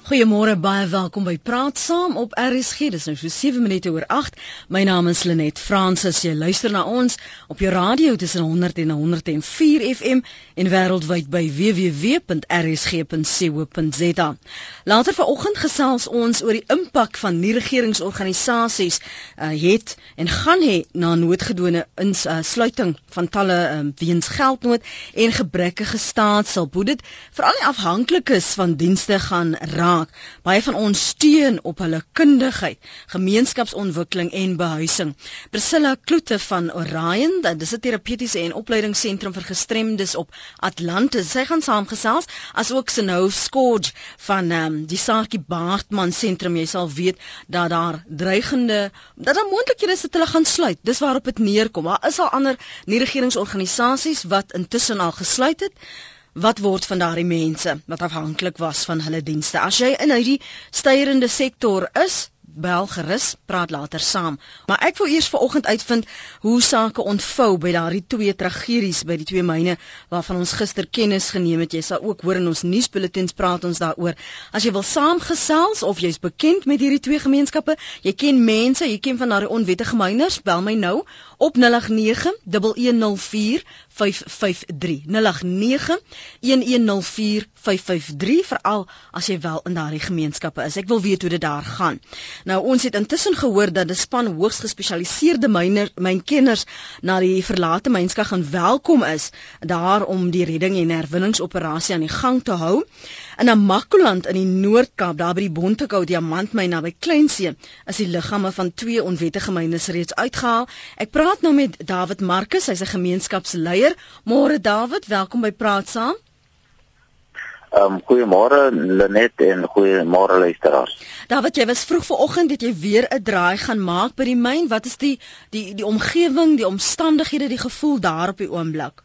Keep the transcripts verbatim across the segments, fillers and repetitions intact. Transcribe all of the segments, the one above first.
Goeiemôre, baie welkom by Praat Saam op R S G. Dis nou so sewe minute oor agt. My naam is Lenet Fransis. Jy luister na ons op jou radio tussen honderd en honderd en vier F M en wêreldwyd by w w w punt r s g punt co punt z a. Later vanoggend gesels ons oor die impak van nie-regeringsorganisasies uh, het en gaan hê na noodgedwonge insluiting uh, van talle um, weens geldnood en gebrekkige staatshulp. Hoe dit veral nie afhanklik is van dienste gaan raak. Baie van ons steun op hulle kundigheid, gemeenskapsontwikkeling en behuising. Priscilla Kloete van Orion, dit is 'n terapeutiese en opleidingsentrum vir gestremdes op Atlantis. Sy gaan saamgesels, as ook Snow Scourge van um, die Saartjie Baartman sentrum. Jy sal weet dat daar dreigende, dat daar moontlikhede is dat hulle gaan sluit. Dis waarop dit neerkom. Daar is al ander nie-regeringsorganisasies wat intussen al gesluit het. Wat word van daardie mense wat afhanklik was van hulle dienste? As jy in hierdie stygende sektor is, bel gerus, praat later saam. Maar ek wil eers vanoggend uitvind hoe sake ontvou by daardie twee tragedies by die twee myne waarvan ons gister kennis geneem het. Jy sal ook hoor in ons nuusbulletins praat ons daaroor. As jy wil saamgesels of jy's bekend met hierdie twee gemeenskappe, jy ken mense, jy ken van daardie onwettige myners, bel my nou op nul agt nege, een een nul vier, vyf vyf drie. nul agt nege, een een nul vier, vyf vyf drie, veral as jy wel in daardie gemeenskappe is. Ek wil weet hoe dit daar gaan. Nou, ons het intussen gehoor dat 'n span hoogs gespesialiseerde myner, mynkenners na die verlate mynska gaan welkom is, daar om die redding en herwinningsoperasie aan die gang te hou. In Namakoland in die Noord-Kaap, daar by die Bontekou diamantmyn naby Kleinsee, is die liggame van twee onwettige myners reeds uitgehaal. Ek praat nou met David Marcus, hy's 'n gemeenskapsleier. Môre David, welkom by Praat Saam. Um, goeiemôre Lenet en goeiemôre luisteraars. David, jy was vroeg vanoggend dat jy weer 'n draai gaan maak by die myn. Wat is die die die omgewing, die omstandighede, die gevoel daar op die oomblik?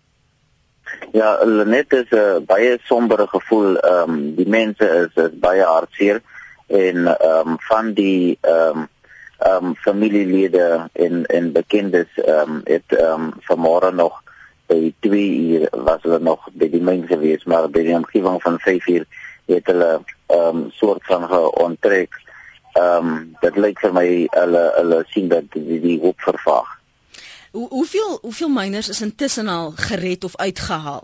Ja, Lenet, is 'n uh, baie sombere gevoel. Ehm um, die mense is, is baie hartseer en ehm um, van die ehm um, ehm um, familielede en en bekendes ehm um, het ehm um, vanmôre nog by twee uur was hulle nog by die myn gewees, maar by die omgewing van vyf uur het hulle ehm um, soort van geonttrek. Ehm um, dit lyk vir my hulle hulle sien dat die, die hoop vervaag. Hoe hoeveel hoeveel myners is intussen al gered of uitgehaal?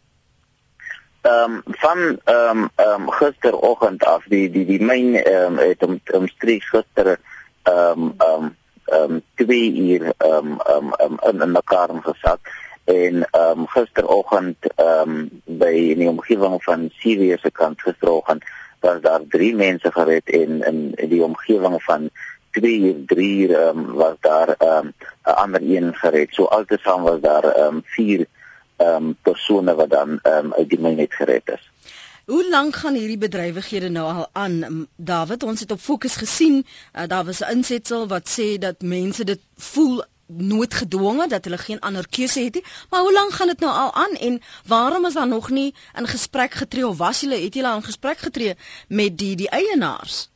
Ehm um, van ehm um, ehm um, gisteroggend af die die die myn ehm um, het om omstreeks gister ehm um, ehm um, ehm um, twee uur ehm um, ehm um, in in mekaar gesak. En um, gisteroggend um, by in die omgewing van Sirius se kant gisteroggend was daar drie mense gered en in, in die omgewing van twee uur, drie uur um, was daar 'n um, ander een gered. So altesaam was daar um, vier um, persone wat dan um, uit die myn gered is. Hoe lank gaan hierdie bedrywighede nou al aan, David? Ons het op Fokus gesien, uh, daar was 'n insetsel wat sê dat mense dit voel noodgedwonge, dat hulle geen ander keuse het nie, maar hoe lank gaan dit nou al aan en waarom is daar nog nie in gesprek getree of was julle, het julle al in gesprek getree met die die eienaars?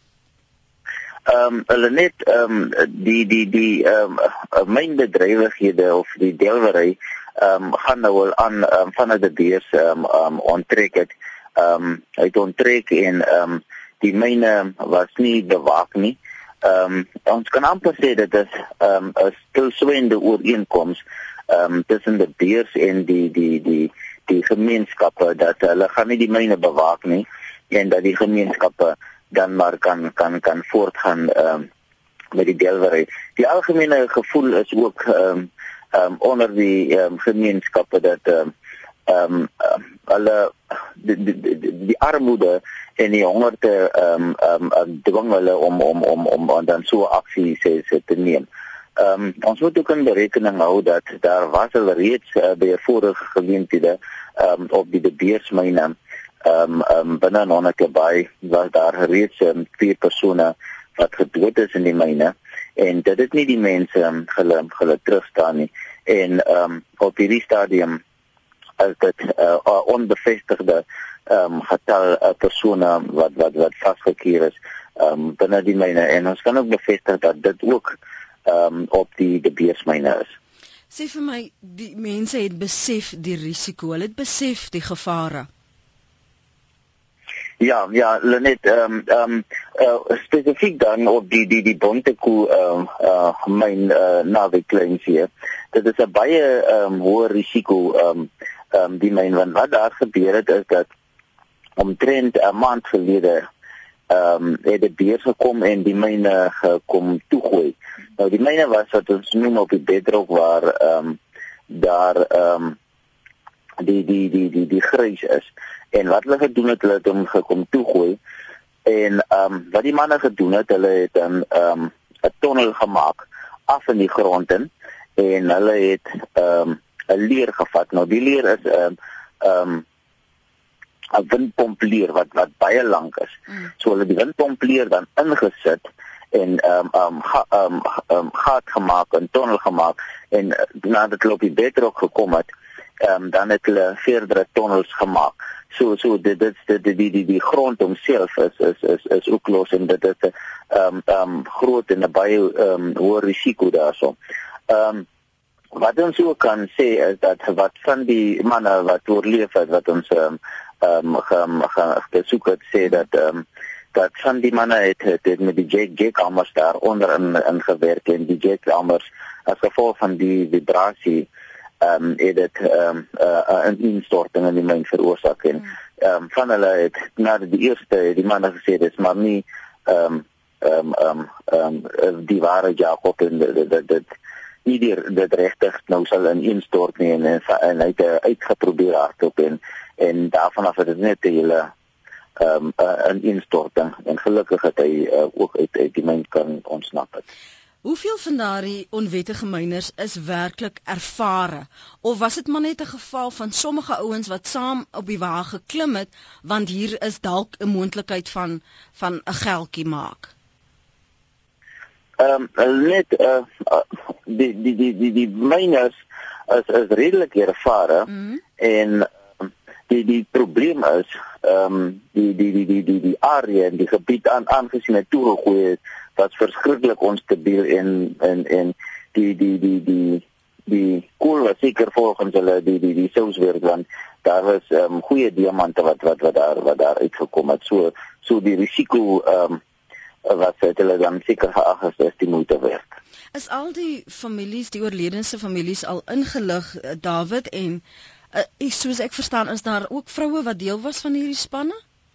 Ehm um, hulle net ehm um, die die die ehm um, mynbedrywighede of die delwery ehm um, gaan nou al aan um, vanuit die beurs ehm um, um, onttrek het. Ehm um, uit onttrek en ehm um, die myne was nie bewaak nie. Ehm um, ons kan amper sê dat dit ehm um, 'n stilswygende ooreenkoms ehm um, tussen die beurs en die die die die gemeenskappe dat hulle gaan nie die myne bewaak nie en dat die gemeenskappe dan maar kan kan kan voortgaan ehm um, met die delwery. Die algemene gevoel is ook ehm um, ehm um, onder die ehm um, gemeenskappe dat ehm um, ehm um, hulle die, die, die, die armoede en die hongerte ehm um, um, dwing hulle om om om om, om dan so aksie se te neem. Ehm um, ons moet ook in berekening hou dat daar was al reeds uh, by vorige geleenthede ehm um, op die De Beersmyne ehm um, um, binne Nonnikebaai was daar reeds um, vier persone wat gedood is in die myne en dit is nie die mense um, hulle hulle terugstaan nie en ehm um, op hierdie stadium is dit uh, onbevestigde ehm um, getal uh, persone wat wat wat vasgekeer is ehm um, binne die myne en ons kan ook bevestig dat dit ook ehm um, op die De Beersmyne is. Sê vir my, die mense het besef die risiko, hulle het besef die gevare. Ja, ja, Lenet, ehm um, um, uh, spesifiek dan op die die die Bontekoe ehm um, uh, myn uh, naby Kleinvee. Dit is 'n baie ehm um, hoë risiko ehm um, ehm um, die myn, want wat daar gebeur het is dat omtrent 'n maand gelede ehm um, het die beer gekom en die myne gekom toegooi. Nou die myne was wat ons noem op die bedrock waar ehm um, daar ehm um, die die die die die grys is. En wat hulle gedoen het, hulle het hom gekom toegooi. En ehm um, wat die manne gedoen het, hulle het dan ehm um, 'n tonnel gemaak af in die grond in en hulle het ehm um, 'n leer gevat. Nou die leer is 'n ehm um, 'n windpompleer wat wat baie lank is. Mm. So hulle die windpompleer dan ingesit en ehm um, ehm um, ga, um, um, gat gemaak, 'n tonnel gemaak en nadat hulle op die bedrock gekom het, ehm um, dan het hulle verdere tonnels gemaak. So so dit dit die die die die grond homself is is is is ook los en dit is 'n ehm ehm groot en 'n baie ehm um, hoë risiko daarso. Ehm um, wat ons ook kan sê is dat wat van die manne wat oorleef het wat ons ehm um, ehm um, gesoek het sê dat ehm um, dat van die manne het, het, het met die jet jetkamers daar onder in, in gewerk en die jetkamers as gevolg van die vibrasie ehm um, het dit ehm um, uh, 'n instorting in die myn veroorsaak en ehm um, van hulle het na die eerste die manne gesê dis maar nie ehm um, ehm um, ehm um, die ware Jakob en dit dit dit nie die dit regtig nou sal in instort nie en en, en hy het uitgeprobeer hardop en en daarvan af het dit net 'n hele ehm um, 'n instorting en gelukkig het hy uh, ook uit uit die myn kan ontsnap het. Hoeveel van daardie onwettige myners is werklik ervare of was dit maar net 'n geval van sommige ouens wat saam op die wa geklim het want hier is dalk 'n moontlikheid van van 'n geldjie maak? Ehm um, net uh, uh, die die die die die myners is is redelik ervare mm-hmm. en die die probleem is ehm um, die die die die die die area en die gebied aan aangesien het toegegooi het wat verskriklik onstabiel en en en die die die die die kool was seker volgens hulle die die die souswerk want daar was ehm um, goeie diamante wat wat wat daar wat daar uitgekom het so so die risiko ehm um, wat hulle dan seker geag is is die moeite werd. Is al die families die oorledense families al ingelig David en uh, soos ek verstaan is daar ook vroue wat deel was van hierdie spanne?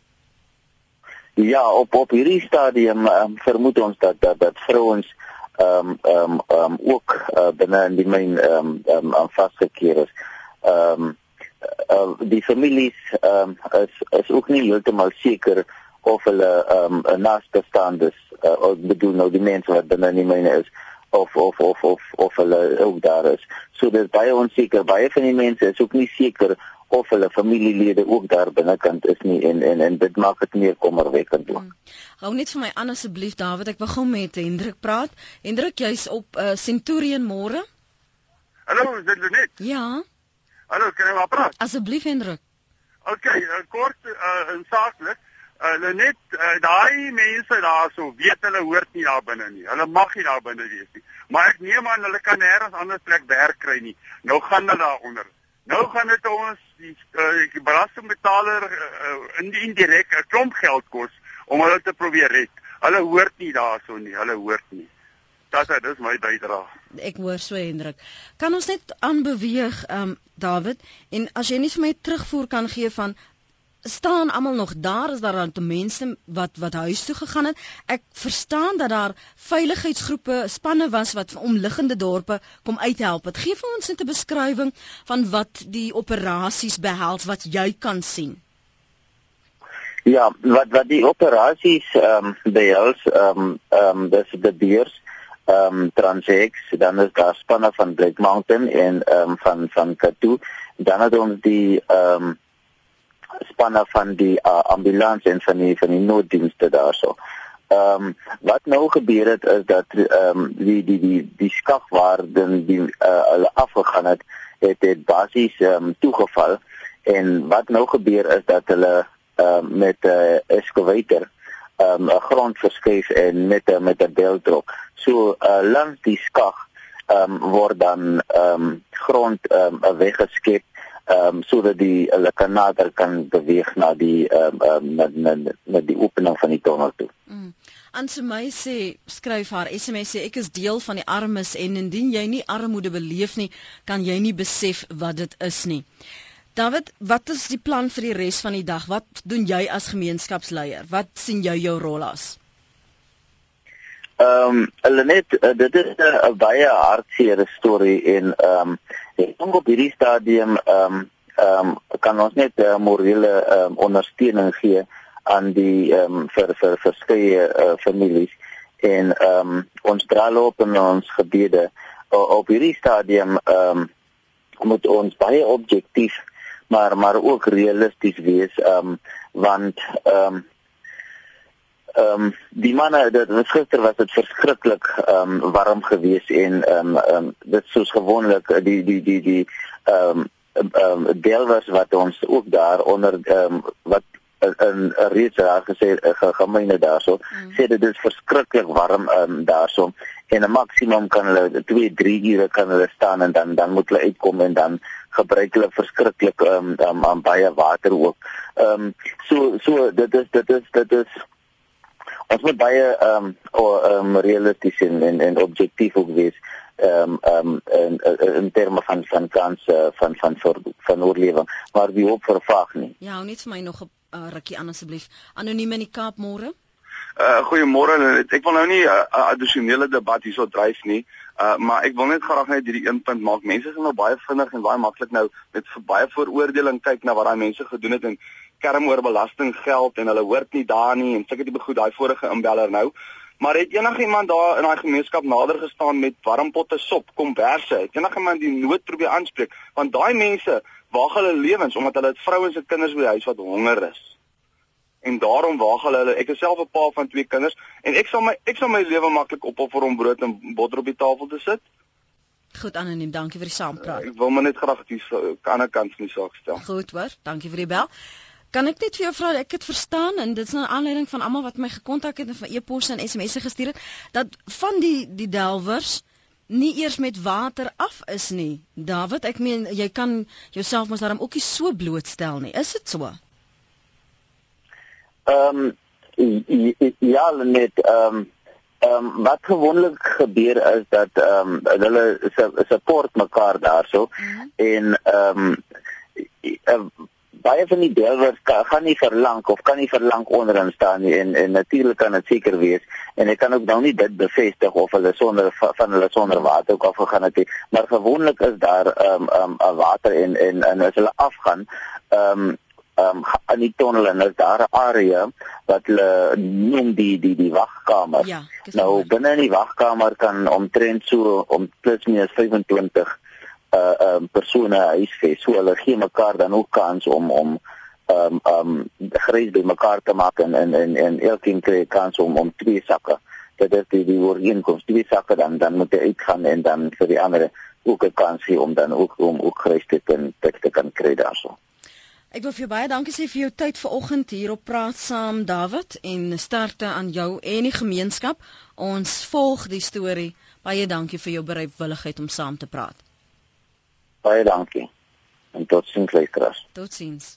Ja, op op hierdie stadium um, vermoed ons dat dat, dat vrouens ehm um, ehm um, um, ook uh, binne in die myn ehm um, um, vasgekeer is. Ehm um, uh, die families ehm um, is is ook nie heeltemal seker of hulle ehm um, naastebestaandes uh, of bedoel nou die mense wat binne in die myne is of of of of of hulle ook daar is. So dit is baie onseker. Baie van die mense is ook nie seker of hulle familielede ook daar binnekant is nie en en en dit maak dit meer kommerwekkend ook. Hmm. Hou net vir my aan asseblief David, ek wil gou met Hendrik praat. Hendrik, jy's op uh, Centurion môre? Hallo, is dit Lenet? Ja. Hallo, kan jy maar praat? Asseblief Hendrik. Okay, uh, kort uh, en saaklik. Uh, Lenet, uh, daai mense daarso weet hulle hoort nie daar binne nie. Hulle mag nie daar binne wees nie. Maar ek neem aan hulle kan nêrens anders plek werk kry nie. Nou gaan hulle daaronder. Nou gaan dit ons die, uh, die belastingbetaler uh, in die indirek 'n klomp geld kos om hulle te probeer red. Hulle hoort nie daarso nie, hulle hoort nie. Dat is my bydrae. Ek hoor so Hendrik. Kan ons net aanbeweeg um, David en as jy net vir my terugvoer kan gee van staan almal nog daar, is daar dan te mense wat wat huis toe gegaan het. Ek verstaan dat daar veiligheidsgroepe, spanne was wat van omliggende dorpe kom uithelp. Wat gee vir ons 'n beskrywing van wat die operasies behels wat jy kan sien? Ja, wat wat die operasies ehm um, behels ehm um, ehm um, dis die beers ehm um, Transex, dan is daar spanne van Black Mountain en ehm um, van van Katu, dan het ons die ehm um, spanne van die uh, ambulans en van die van die nooddienste daarso. Ehm um, wat nou gebeur het is dat ehm um, die die die die skag waar dan die uh, hulle afgegaan het, het dit basies ehm um, toegeval en wat nou gebeur is dat hulle ehm um, met 'n uh, excavator ehm um, 'n grond verskuif en met 'n met 'n beltrok. So uh, langs die skag ehm um, word dan ehm um, grond ehm um, weggeskep ehm um, sodat die hulle kan nader kan beweeg na die ehm um, um, na, na, na die opening van die tonnel toe. Mm. Ansemay sê, skryf haar S M S sê, ek is deel van die armes en indien jy nie armoede beleef nie, kan jy nie besef wat dit is nie. David, wat is die plan vir die res van die dag? Wat doen jy as gemeenskapsleier? Wat sien jy jou rol as? Ehm um, Lenet, uh, dit is 'n uh, baie hartseer storie en ehm um, ek dink op hierdie stadium ehm um, ehm um, kan ons net uh, morele um, ondersteuning gee aan die ehm um, vir vir verskeie uh, families en ehm um, ons dra loop in ons gebede uh, op hierdie stadium ehm um, moet ons baie objektief maar maar ook realisties wees ehm um, want ehm um, Ehm um, die manne, dit was gister was dit verskriklik ehm um, warm geweest en ehm um, um, dit soos gewoonlik die die die die ehm um, ehm um, delwers wat ons ook daar onder ehm um, wat in 'n reeds daar gesê gemeene daarso mm. sê dit is verskriklik warm ehm um, daarso en 'n maksimum kan hulle twee drie ure kan hulle staan en dan dan moet hulle uitkom en dan gebruik hulle verskriklik ehm um, um, baie water ook. Ehm um, so so dit is dit is dit is ons moet baie ehm um, um, realisties en, en en objektief ook wees ehm um, ehm um, in, in terme van van kanse van van van, van oorlewing, maar die hoop vervaag nie. Ja, hou net vir my nog 'n uh, rukkie aan asseblief. Anoniem in die Kaap, môre. Uh goeiemôre. Ek wil nou nie 'n uh, uh, addisionele debat hierso dryf nie, uh maar ek wil net graag net hierdie een punt maak. Mense is nou baie vinnig en baie maklik nou met baie vooroordeling kyk na wat daai mense gedoen het en kerm oor belastinggeld en hulle hoort nie daar nie en seker die begoed daai vorige inbeller nou. Maar het enigiemand daar in daai gemeenskap nader gestaan met warmpotte sop, komberse? Het enigiemand die nood probeer aanspreek? Want daai mense waag hulle lewens omdat hulle het vrouens en kinders by die huis wat honger is. En daarom waag hulle hulle. Ek is self 'n pa van twee kinders en ek sal my ek sal my lewe maklik opoffer om brood en botter op die tafel te sit. Goed, Anoniem, dankie vir die saampraat. Uh, ek wil maar net graag die ander kant van die saak stel. Goed hoor, dankie vir die bel. Kan ek net vir jou vra, ek het verstaan en dit is 'n aanleiding van almal wat my gekontak het en van e-posse en S M S'e gestuur het, dat van die die delwers nie eers met water af is nie. David, ek meen jy kan jouself mos daarom ook nie so blootstel nie. Is dit so? Ehm um, ja, net ehm um, um, wat gewoonlik gebeur is dat ehm um, hulle support mekaar daarso mm-hmm. en ehm um, baie van die delwers gaan nie verlang of kan nie verlang onderin staan nie en en natuurlik kan dit seker wees en ek kan ook nou nie dit bevestig of hulle sonder van hulle sonder water ook afgegaan het, maar gewoonlik is daar ehm um, um, water en en en as hulle afgaan ehm um, Um, in die tonnel en is daar 'n area wat hulle noem die die die wagkamer. Ja, nou binne in die wagkamer kan omtrent so om plus minus vyfentwintig uh um, persone huisves. So hulle gee mekaar dan ook kans om om um um grys by mekaar te maak en en en, en elkeen kry kans om om twee sakke. Dit is die die ooreenkoms, twee sakke dan dan moet jy uitgaan en dan vir die ander ook 'n kans hê om dan ook om ook grys te kan te kan kry daarso. Ek wil vir jou baie dankie sê vir jou tyd vanoggend hier op Praat Saam, David, en sterkte aan jou en die gemeenskap. Ons volg die storie. Baie dankie vir jou bereidwilligheid om saam te praat. Baie dankie. En tot sins luisteraars. Totsiens.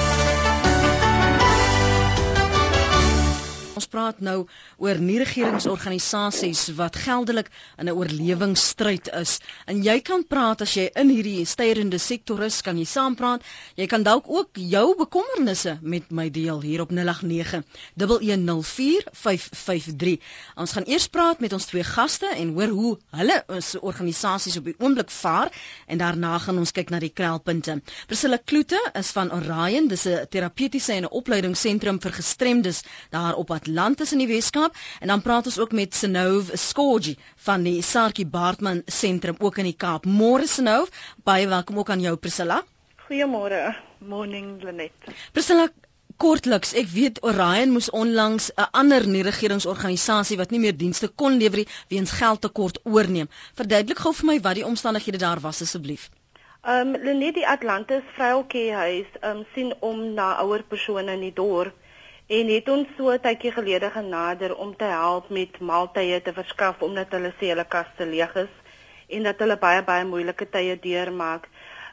Ons praat nou oor nie-regeringsorganisasies wat geldelik in 'n oorlewingsstryd is. En jy kan praat as jy in hierdie styrende sektor is, kan jy saampraat. Jy kan dalk ook jou bekommernisse met my deel hier op nul agt nege, een een nul vier, vyf vyf drie. Ons gaan eers praat met ons twee gaste en hoor hoe hulle ons organisasies op die oomblik vaar en daarna gaan ons kyk na die knelpunte. Priscilla Kloete is van Orion, dis 'n terapeutiese en 'n opleidingsentrum vir gestremdes daar op Atlantis in die Weskaap, en dan praat ons ook met Senove Skorgie van die Saartjie Baartman Sentrum ook in die Kaap. Môre Senove, baie welkom ook aan jou Priscilla. Goeiemôre, morning Lenet. Priscilla, kortliks, ek weet Orion moes onlangs 'n ander nie-regeringsorganisasie wat nie meer dienste kon lewer nie weens geldtekort oorneem. Verduidelik gou vir my wat die omstandighede daar was asseblief. Ehm um, Lenet, die Atlantis Vroueltjiehuis ehm um, sien om na ouer persone in die dorp. En het ons so 'n tydjie gelede genader om te help met maaltye te verskaf omdat hulle sê hulle kaste leeg is en dat hulle baie baie moeilike tye deurmaak.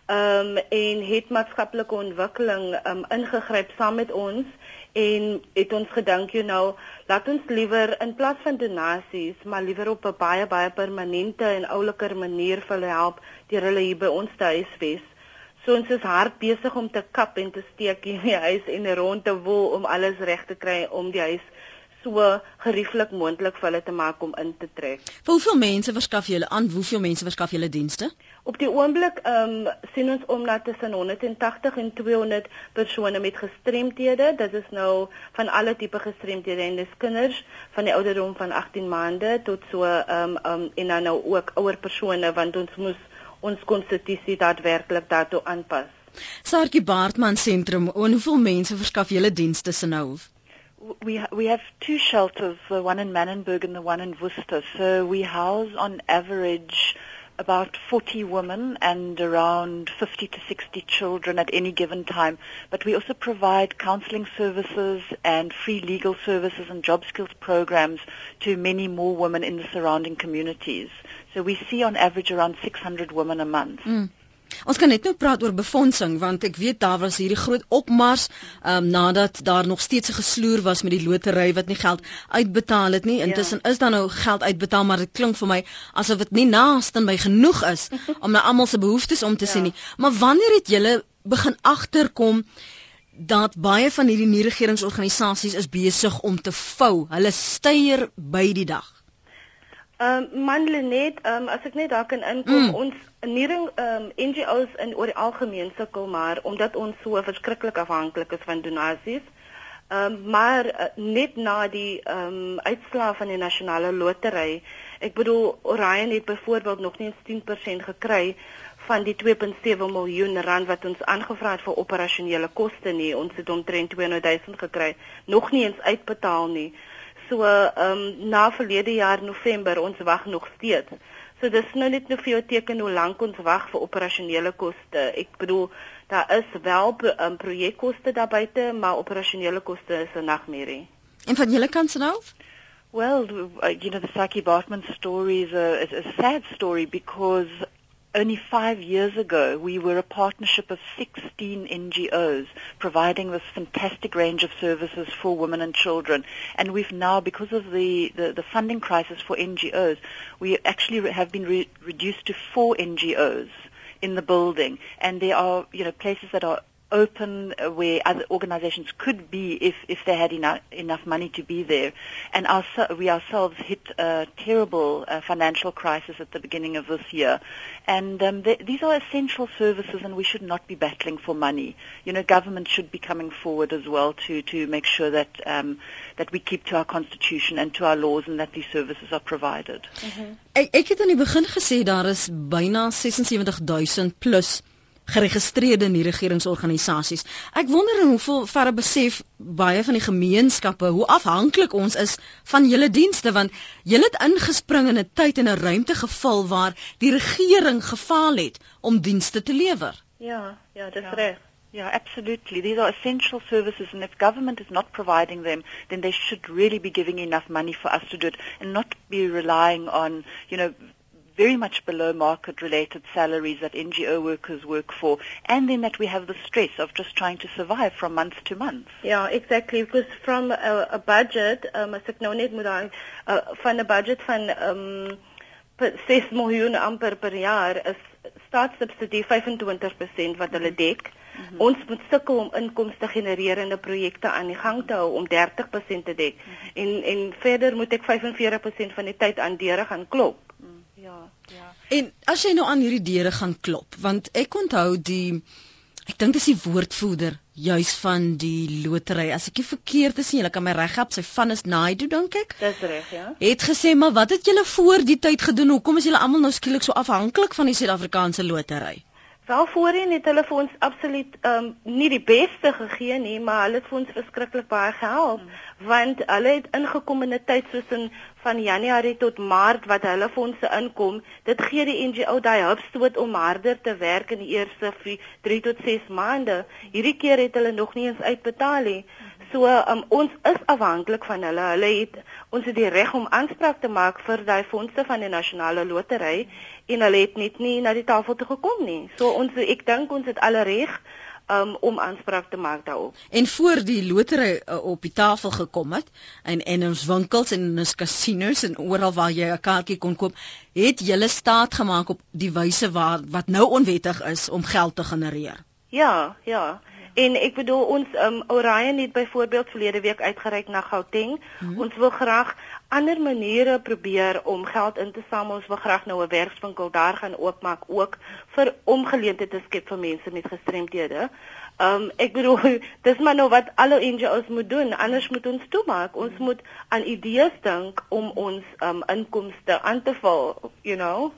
um, en het maatskaplike ontwikkeling um, ingegryp saam met ons en het ons gedink, you know, laat ons liewer in plaas van donasies, maar liewer op 'n baie baie permanente en ouliker manier vir hulle help deur hulle hier by ons te huisves. So ons is hard besig om te kap en te steek in die huis en rond te woel om alles reg te kry om die huis so gerieflik moontlik vir hulle te maak om in te trek. Vir hoeveel mense verskaf julle aan? Hoeveel mense verskaf julle dienste? Op die oomblik um, sien ons om na tussen honderdtagtig en tweehonderd persone met gestremthede. Dit is nou van alle tipe gestremthede en dis kinders van die ouderdom van agttien maande tot so um, um, en dan nou ook ouer persone want ons moes ons konstitusie daadwerklik daartoe aanpas. Saartjie Baartman Sentrum, en hoeveel mense verskaf julle dienste se nou? We we have two shelters, the one in Manenberg and the one in Worcester. So we house on average about forty women and around fifty to sixty children at any given time. But we also provide counseling services and free legal services and job skills programs to many more women in the surrounding communities. So we see on average around six hundred women a month. Mm. Ons kan net nou praat oor befondsing want ek weet daar was hierdie groot opmars um, nadat daar nog steeds 'n gesloer was met die lotery wat nie geld uitbetaal het nie. Intussen ja. is daar nou geld uitbetaal, maar dit klink vir my asof dit nie naaste by genoeg is om na almal se behoeftes om te ja. sien nie. Maar wanneer het julle begin agterkom dat baie van hierdie nie-regeringsorganisasies is besig om te vou? Hulle steier by die dag. Ehm um, man Lenet, um, as ek net daar kan inkom, mm. ons nering um, N G O's in oor die algemeen sukkel maar omdat ons so verskriklik afhanklik is van donasies. Ehm um, maar uh, net na die ehm um, uitslae van die nasionale lotery, ek bedoel Orion het byvoorbeeld nog nie eens tien persent gekry van die twee komma sewe miljoen rand wat ons aangevra het vir operasionele koste nie. Ons het omtrent tweehonderd duisend gekry, nog nie eens uitbetaal nie. So um, na verlede jaar November, ons wag nog steeds. So dis nou net nou vir jou teken hoe lank ons wag vir operasionele koste. Ek bedoel, daar is wel um, projekkoste daar buite, maar operasionele koste is 'n nagmerrie. En van julle kant se nou? Well, you know, the Saartjie Baartman story is a, is a sad story because only five years ago, we were a partnership of sixteen N G O's providing this fantastic range of services for women and children. And we've now, because of the, the, the funding crisis for N G O's, we actually have been re- reduced to four N G O's in the building. And there are, you know, places that are open where other organizations could be if, if they had enough, enough money to be there. And our, we ourselves hit a terrible uh, financial crisis at the beginning of this year. And um, they, these are essential services and we should not be battling for money. You know, government should be coming forward as well to, to make sure that, um, that we keep to our constitution and to our laws and that these services are provided. Mm-hmm. Ek, ek het aan die begin gesê daar is byna sewenty-six thousand plus geregistreerde nie-regeringsorganisasies. Ek wonder in hoeveel verre besef baie van die gemeenskappe hoe afhanklik ons is van julle dienste, want julle het ingespring in 'n tyd en 'n ruimte geval waar die regering gefaal het om dienste te lewer. Ja, ja, dis ja. reg. Yeah, absolutely. These are essential services, and if government is not providing them, then they should really be giving enough money for us to do it and not be relying on, you know, very much below market related salaries that N G O workers work for, and then that we have the stress of just trying to survive from month to month. Yeah, exactly, because from a, a budget, um, as ek nou net moet aan, uh, van 'n budget van um, six miljoen amper per jaar is staatssubsidie vyfentwintig persent wat hulle dek. Mm-hmm. Ons moet sukkel om inkomste genererende projekte aan die gang te hou om dertig persent te dek. Mm-hmm. En en verder moet ek vyfenveertig persent van die tyd aan deure gaan klop. Mm. Ja, ja. En as jy nou aan hierdie deure gaan klop, want ek onthou die ek dink dis die woordvoerder juis van die lotery. As ek nie verkeerd is nie, julle kan my reg help, sy van is Naidu dink ek. Dis reg, ja. Het gesê, maar wat het julle voor die tyd gedoen? Hoekom is julle almal nou skielik so afhanklik van die Suid-Afrikaanse lotery? Wel voorheen het hulle vir ons absoluut um, nie die beste gegee nie, maar hulle het vir ons verskriklik baie gehelp, hmm. want hulle het ingekom in 'n tyd soos in van Januarie tot Maart wat hulle fondse inkom. Dit gee die N G O daai hupstoot om harder te werk in die eerste drie tot ses maande. Hierdie keer het hulle nog nie eens uitbetaal nie. so um, ons is afhanklik van hulle. Hulle het ons het die reg om aanspraak te maak vir daai fondse van die nasionale lotery en hulle het net nie na die tafel toe gekom nie. So ons ek dink ons het alle reg um, om aanspraak te maak daarop. En voor die lotery uh, op die tafel gekom het en en ons winkels en ons casinos en oral waar jy 'n kaartjie kon koop, het julle staat gemaak op die wyse waar wat nou onwettig is om geld te genereer. Ja, ja. En ek bedoel ons um, Orion het byvoorbeeld verlede week uitgereik na Gauteng. Hmm. Ons wil graag ander maniere probeer om geld in te samel. Ons wil graag nou 'n werkswinkel daar gaan oopmaak ook vir om geleenthede te skep vir mense met gestremdhede. Um ek bedoel dis maar nou wat alle N G O's moet doen. Anders moet ons toemaak. Ons moet aan idees dink om ons um inkomste aan te val, you know.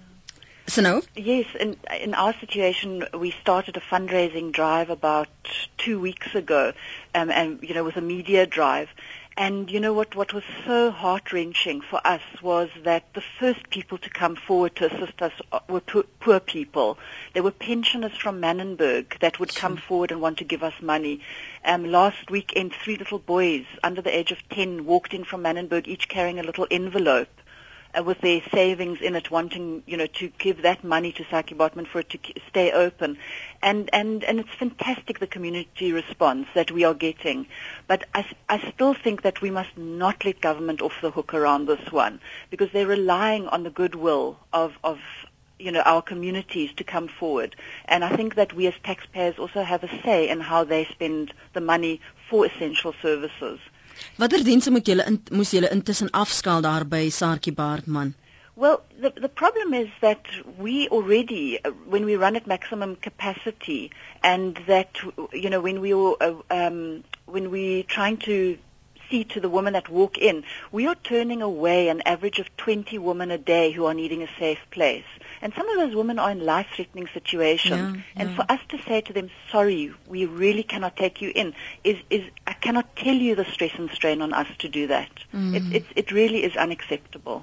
So no? Yes, in in our situation, we started a fundraising drive about two weeks ago, um, and you know, with a media drive. And you know what? What was so heart-wrenching for us was that the first people to come forward to assist us were poor, poor people. There were pensioners from Manenberg that would come forward and want to give us money. Um, last weekend, three little boys under the age of ten walked in from Manenberg, each carrying a little envelope Uh, with their savings in it, wanting, you know, to give that money to Saki Botman for it to k- stay open. And, and, and it's fantastic, the community response that we are getting. But I, I still think that we must not let government off the hook around this one, because they're relying on the goodwill of, of you know, our communities to come forward. And I think that we as taxpayers also have a say in how they spend the money for essential services. Watter dienste moet julle in, moes julle intussen afskaal daar by Saartjie Baartman? Well, the the problem is that we already, uh, when we run at maximum capacity, and that you know when we uh, um, when we trying to see to the women that walk in, we are turning away an average of twenty women a day who are needing a safe place. And some of those women are in life-threatening situations. Yeah, and yeah. for us to say to them, sorry, we really cannot take you in, is, is I cannot tell you the stress and strain on us to do that. Mm. It, it, it really is unacceptable.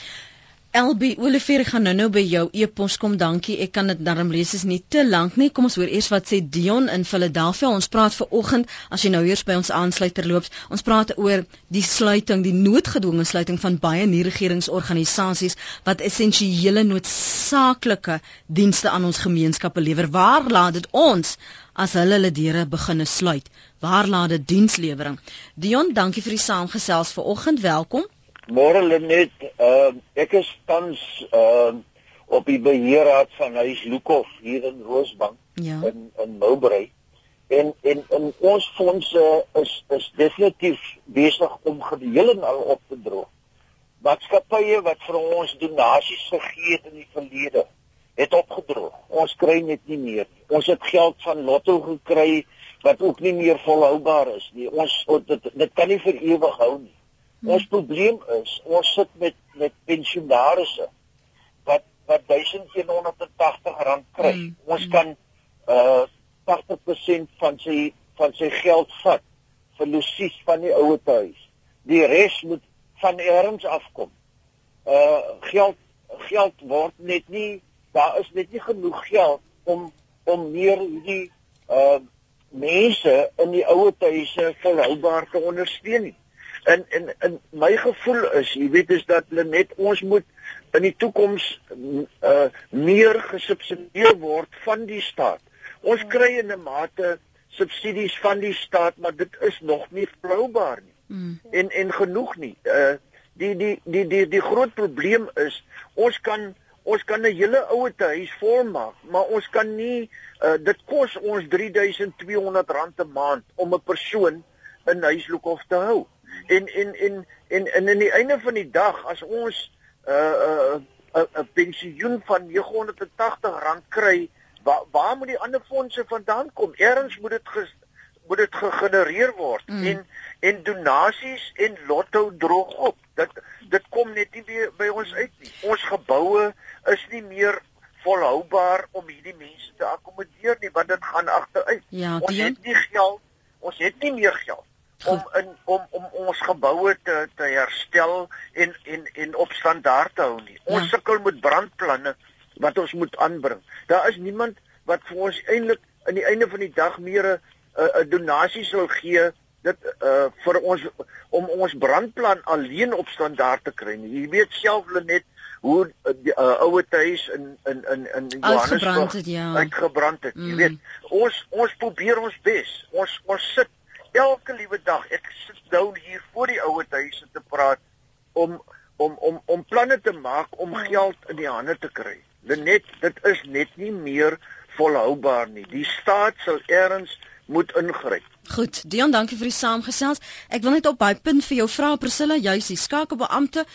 Elbie Olivier, ek gaan nou nou by jou e-pos kom, dankie. Ek kan dit darm lees, is nie te lank nie. Kom ons hoor eers wat sê Dion in Philadelphia. Ons praat vanoggend, as jy nou eers by ons aansluit terloops, ons praat oor die sluiting, die noodgedwonge sluiting van baie nie-regeringsorganisasies wat essensiële noodsaaklike dienste aan ons gemeenskappe lewer. Waar laat dit ons as hulle hulle deure beginne sluit? Waar laat dit dienslewering? Dion, dankie vir die saamgesels vanoggend. Welkom. Môre Lenet, uh, ek is tans uh, op die beheerraad van Huis Lukhof hier in Roosbank, ja. in, in Mowbray. En, en, en ons fondse is, is definitief besig om geheel en al op te droog. Maatskappye wat vir ons donasies gegee het in die verlede, het opgedroog. Ons kry net nie meer. Ons het geld van Lotto gekry wat ook nie meer volhoubaar is nie. Ons, dit, dit kan nie vir ewig hou nie. Ons probleem is, ons sit met, met pensionarisse wat, wat duisend honderd tagtig rand kry. Mm. Ons kan uh, tagtig persent van sy, van sy geld vat vir losies van die ouer huis. Die res moet van ergens afkom. Uh, geld, geld word net nie, daar is net nie genoeg geld om, om meer die uh, mense in die ouer huise volhoubaar te ondersteun nie. En, en, en my gevoel is, jy weet, is dat net ons moet in die toekoms uh, meer gesubsidieer word van die staat. Ons kry in 'n mate subsidies van die staat, maar dit is nog nie volhoubaar nie. Mm. En, en genoeg nie. Uh, die, die, die, die, die groot probleem is, ons kan, ons kan 'n hele ouer huis volmaak, maar ons kan nie, uh, dit kos ons drie duisend twee honderd rand 'n maand om 'n persoon in Huis Lukhof te hou. En en en en en aan die einde van die dag, as ons 'n uh, 'n uh, uh, uh, pensioen van nege honderd tagtig rand kry, waar waar moet die ander fondse vandaan kom? Ergens moet dit ges, moet dit gegenereer word. Mm. En en donasies en lotto droog op. Dit dit kom net nie weer by ons uit nie. Ons geboue is nie meer volhoubaar om hierdie mense te akkommodeer nie, want dit gaan agteruit. Ja, ons het nie geld, ons het nie meer geld om in om om ons geboue te te herstel en en en op standaard te hou nie. Ons ja. sukkel met brandplanne wat ons moet aanbring. Daar is niemand wat vir ons eintlik aan die einde van die dag meer 'n 'n donasie sal gee dit uh, vir ons om ons brandplan alleen op standaard te kry nie. Jy weet self Lenet hoe die uh, ouer huis in in in in Johannesburg het, ja. uitgebrand het. Mm. Jy weet, ons ons probeer ons bes. Ons ons sit elke liewe dag. Ek sit nou hier voor die ouer huise te praat om om om om planne te maak om mm. geld in die hande te kry. Lenet, dit is net nie meer volhoubaar nie. Die staat sal ergens moet ingryp. Goed, Dion, dankie vir die saamgesels. Ek wil net op baie punt vir jou vra, Priscilla, juis die skakelbeampte,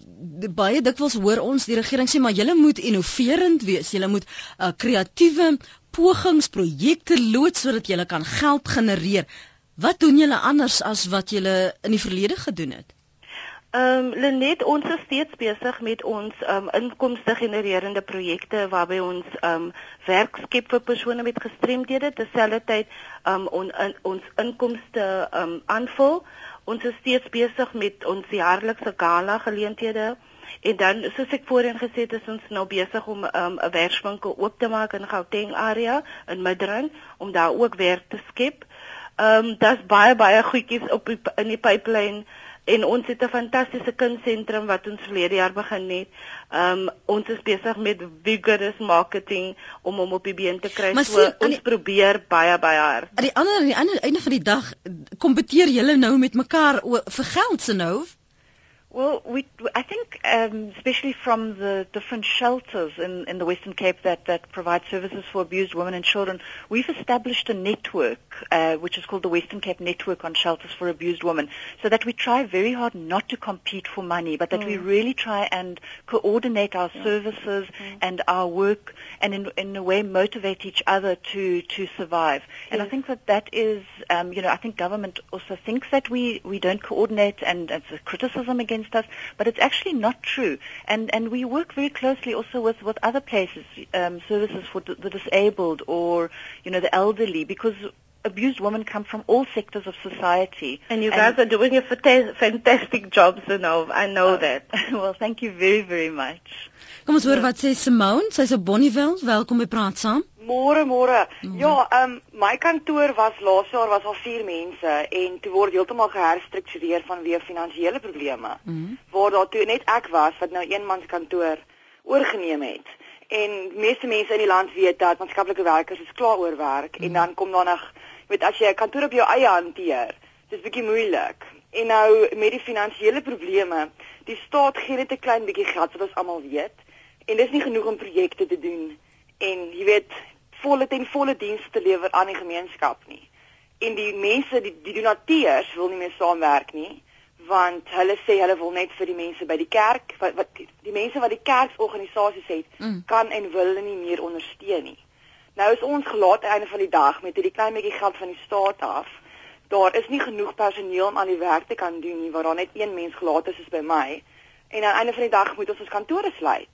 baie dikwels hoor ons die regering sê maar julle moet innoverend wees, julle moet uh, kreatiewe pogings, projekte loods sodat julle kan geld genereer. Wat doen julle anders as wat julle in die verlede gedoen het? Ehm um, Lenet, ons is steeds besig met ons um, inkomste genererende projekte waarby ons um, werk skep vir persone met gestremdhede, terselfdertyd um, on, in, ons inkomste um, aanvul. Ons is steeds besig met ons jaarlikse gala geleenthede en dan soos ek voorheen gesê het, is ons nou besig om 'n um, werkswinkel oop te maak in Gauteng area in Midrand om daar ook werk te skep. Ehm um, daar's baie baie goedjies op die, in die pipeline. En ons het 'n fantastiese kindsentrum wat ons verlede jaar begin het. Um, ons is besig met vigorous marketing om hom op die been te kry. So sien, ons die, probeer baie baie hard. Aan die ander aan die ander einde van die dag kompeteer julle nou met mekaar vir geld se nou. Well, we, I think, um, especially from the different shelters in, in the Western Cape that, that provide services for abused women and children, we've established a network, uh, which is called the Western Cape Network on Shelters for Abused Women, so that we try very hard not to compete for money, but that mm. we really try and coordinate our yeah. services mm. and our work, and in, in a way motivate each other to, to survive. Yes. And I think that that is, um, you know, I think government also thinks that we, we don't coordinate, and it's a criticism against us, but it's actually not true. And and we work very closely also with, with other places, um, services for d- the disabled or, you know, the elderly, because abused women come from all sectors of society. And you guys and are doing a fanta- fantastic job, so no, I know uh, that. Well, thank you very, very much. Kom ons hoor wat sê Simone, sy's op Bonnieville. Welkom by Praat Saam. Môre, môre. Ja, ehm um, my kantoor was laas jaar was al vier mense en toe word heeltemal geherstruktureer vanweë finansiële probleme. Mm -hmm. Waar daar toe net ek was wat nou eenmans kantoor oorgeneem het. En meeste mense in die land weet dat maatskaplike werkers is klaar oor werk mm -hmm. en dan kom daar nog, jy weet, as jy 'n kantoor op jou eie hanteer, dis bietjie moeilik. En nou met die finansiële probleme, die staat gee net 'n klein bietjie geld wat ons almal weet en dis nie genoeg om projekte te doen en jy weet volle ten volle dienste te lewer aan die gemeenskap nie. En die mense, die, die donateurs wil nie meer saamwerk nie, want hulle sê hulle wil net vir die mense by die kerk, wat, wat die, die mense wat die kerksorganisasies het, mm. kan en wil hulle nie meer ondersteun nie. Nou is ons gelaat aan die einde van die dag met hierdie klein bietjie geld van die staat af. Daar is nie genoeg personeel om aan die werk te kan doen nie, waar daar net een mens gelaat is, is by my. En aan die einde van die dag moet ons ons kantore sluit.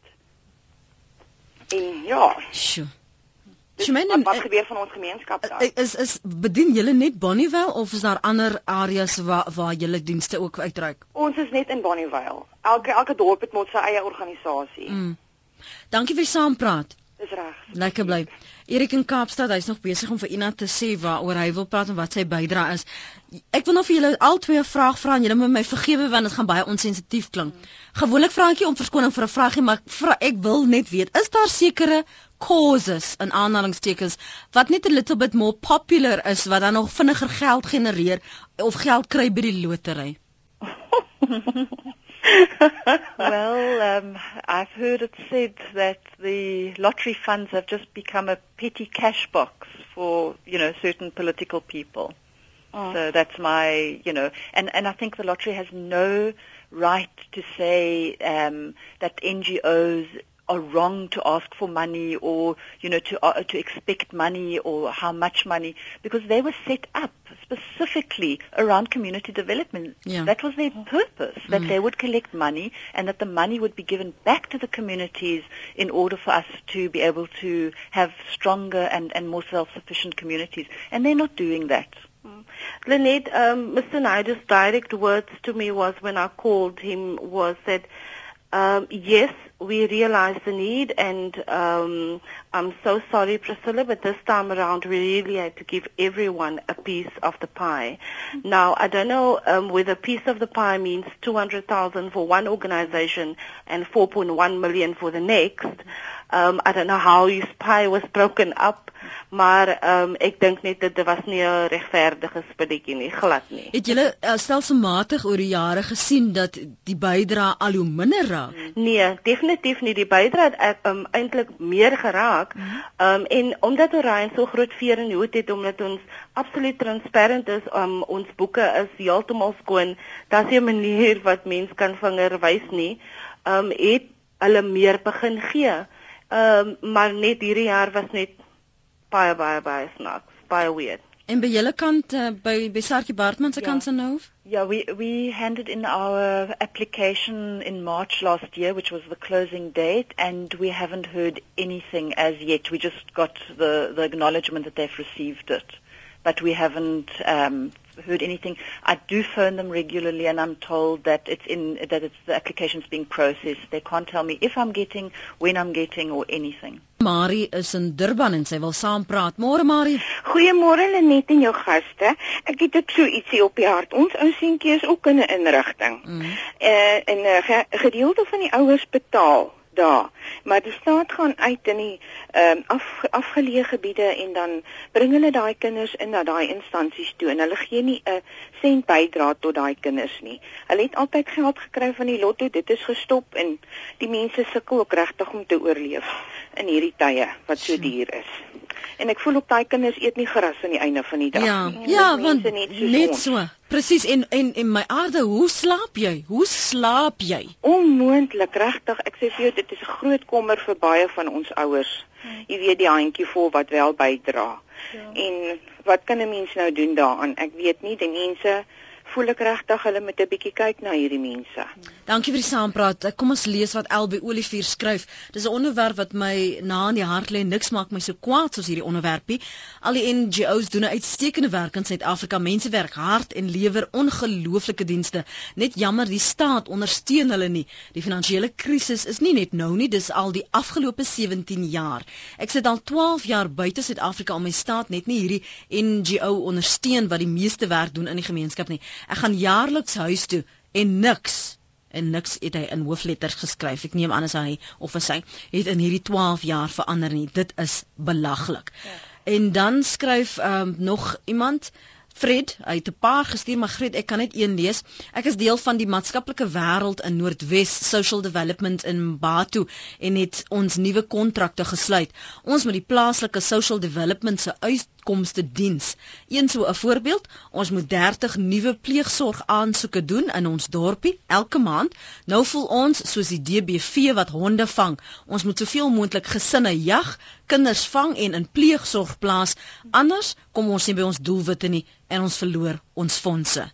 En ja. Sjoe. Dus wat, wat gebeur van ons gemeenskap daar? Is is bedien julle net Bonnieville of is daar ander areas waar waar julle dienste ook uitreik? Ons is net in Bonnieville. Elke elke dorp het met sy eie organisasie. Mm. Dankie vir saampraat. Dis reg. Lekker bly. Erik in Kaapstad, hy's nog besig om vir Ina te sê waaroor hy wil praat en wat sy bydra is. Ek wil nou vir julle al twee 'n vraag vra en julle moet my vergewe want dit gaan baie onsensitief klink. Mm. Gewoonlik vra ek nie om verskoning vir 'n vraagie, maar ek, vra, ek wil net weet, is daar sekere causes in aanhalingstekens wat net 'n little bit more popular is wat dan nog vinniger geld genereer of geld kry by die lotery? Well, um, I've heard it said that the lottery funds have just become a petty cash box for, you know, certain political people. Oh. So that's my, you know, and, and I think the lottery has no right to say um, that N G Os are wrong to ask for money or, you know, to uh, to expect money or how much money, because they were set up specifically around community development. Yeah. That was their purpose, that mm. they would collect money and that the money would be given back to the communities in order for us to be able to have stronger and, and more self-sufficient communities. And they're not doing that. Mm. Lenet, um, Mister Naidu's direct words to me was when I called him was that Um, yes, we realize the need, and um, I'm so sorry, Priscilla, but this time around we really had to give everyone a piece of the pie. Mm-hmm. Now, I don't know um, whether a piece of the pie means two hundred thousand for one organization and four point one million for the next. Um, I don't know how his pie was broken up, maar um, ek dink net dit was nie 'n regverdige spelletjie nie, glad nie. Het julle uh, stelselmatig oor die jare gesien dat die bydrae al hoe minder raak? Nee, definitief nie. Die bydrae het um, eintlik meer geraak. Um, en omdat Orion so groot veer in die hoed het, omdat ons absoluut transparant is, um, ons boeke is heeltemal skoon, daar's nie 'n manier wat mens kan vinger wys nie, um, het hulle meer begin gee. Um, maar net hierdie jaar was net baie, baie, baie snaaks, baie weird. En by julle kant, uh, by, by Saartjie Baartman se yeah. kant se nou? Yeah, we, we handed in our application in March last year, which was the closing date, and we haven't heard anything as yet. We just got the, the acknowledgement that they've received it, but we haven't um, heard anything. I do phone them regularly, and I'm told that it's in that it's the application's being processed. They can't tell me if I'm getting, when I'm getting, or anything. Marie is in Durban en sy wil saam praat. Môre Marie. Goeiemôre Lenet en jou gaste. Ek het ook so ietsie op die hart. Ons ou seentjie is ook in 'n inrigting. Mm. Uh, en 'n uh, ge gedeelte van die ouers betaal daar, maar die staat gaan uit in die um, af, afgeleë gebiede en dan bring hulle daai kinders in na daai instansies toe en hulle gee nie 'n sent bydra tot daai kinders nie. Hulle het altyd geld gekry van die lotto, dit is gestop en die mense sukkel ook regtig om te oorleef in hierdie tye wat so duur is. En ek voel ook daai kinders eet nie gras aan die einde van die dag ja, nie. Ja, want net, net so. Presies, en, en en my aarde, hoe slaap jy? Hoe slaap jy? Onmoontlik, regtig. Ek sê vir jou, dit is 'n groot kommer vir baie van ons ouers. Hmm. Jy weet die handjie vol wat wel bydra. Ja. En wat kan 'n mens nou doen daaraan? Ek weet nie, die mense voel ek regtig hulle moet 'n bietjie kyk na hierdie mense. Dankie vir die saampraat. Kom ons lees wat Elbe Olivier skryf. Dis 'n onderwerp wat my na in die hart lê. Niks maak my so kwaad soos hierdie onderwerpie. Al die N G O's doen 'n uitstekende werk in Suid-Afrika. Mense werk hard en lewer ongelooflike dienste. Net jammer die staat ondersteun hulle nie. Die finansiële krisis is nie net nou nie, dis al die afgelope sewentien jaar. Ek sit al twaalf jaar buite Suid-Afrika om my staat net nie hierdie N G O ondersteun wat die meeste werk doen in die gemeenskap nie. Ek gaan jaarliks huis toe en niks, en niks het hy in hoofletters geskryf, ek neem aan as hy of as hy, het in hierdie twaalf jaar verander nie. Dit is belaglik. Ja. En dan skryf um, nog iemand, Fred, hy het 'n paar gestuur, maar Fred, ek kan net een lees. Ek is deel van die maatskaplike wêreld in Noordwes Social Development in Batu en het ons nuwe kontrakte gesluit. Ons met die plaaslike Social Development se uitkomste diens. Een so 'n voorbeeld, ons moet dertig nuwe pleegsorg aansoeke doen in ons dorpie elke maand. Nou voel ons soos die D B V wat honde vang. Ons moet soveel moontlik gesinne jag, kinders vang en in pleegsorg plaas. Anders kom ons nie by ons doelwitte nie en ons verloor ons fondse.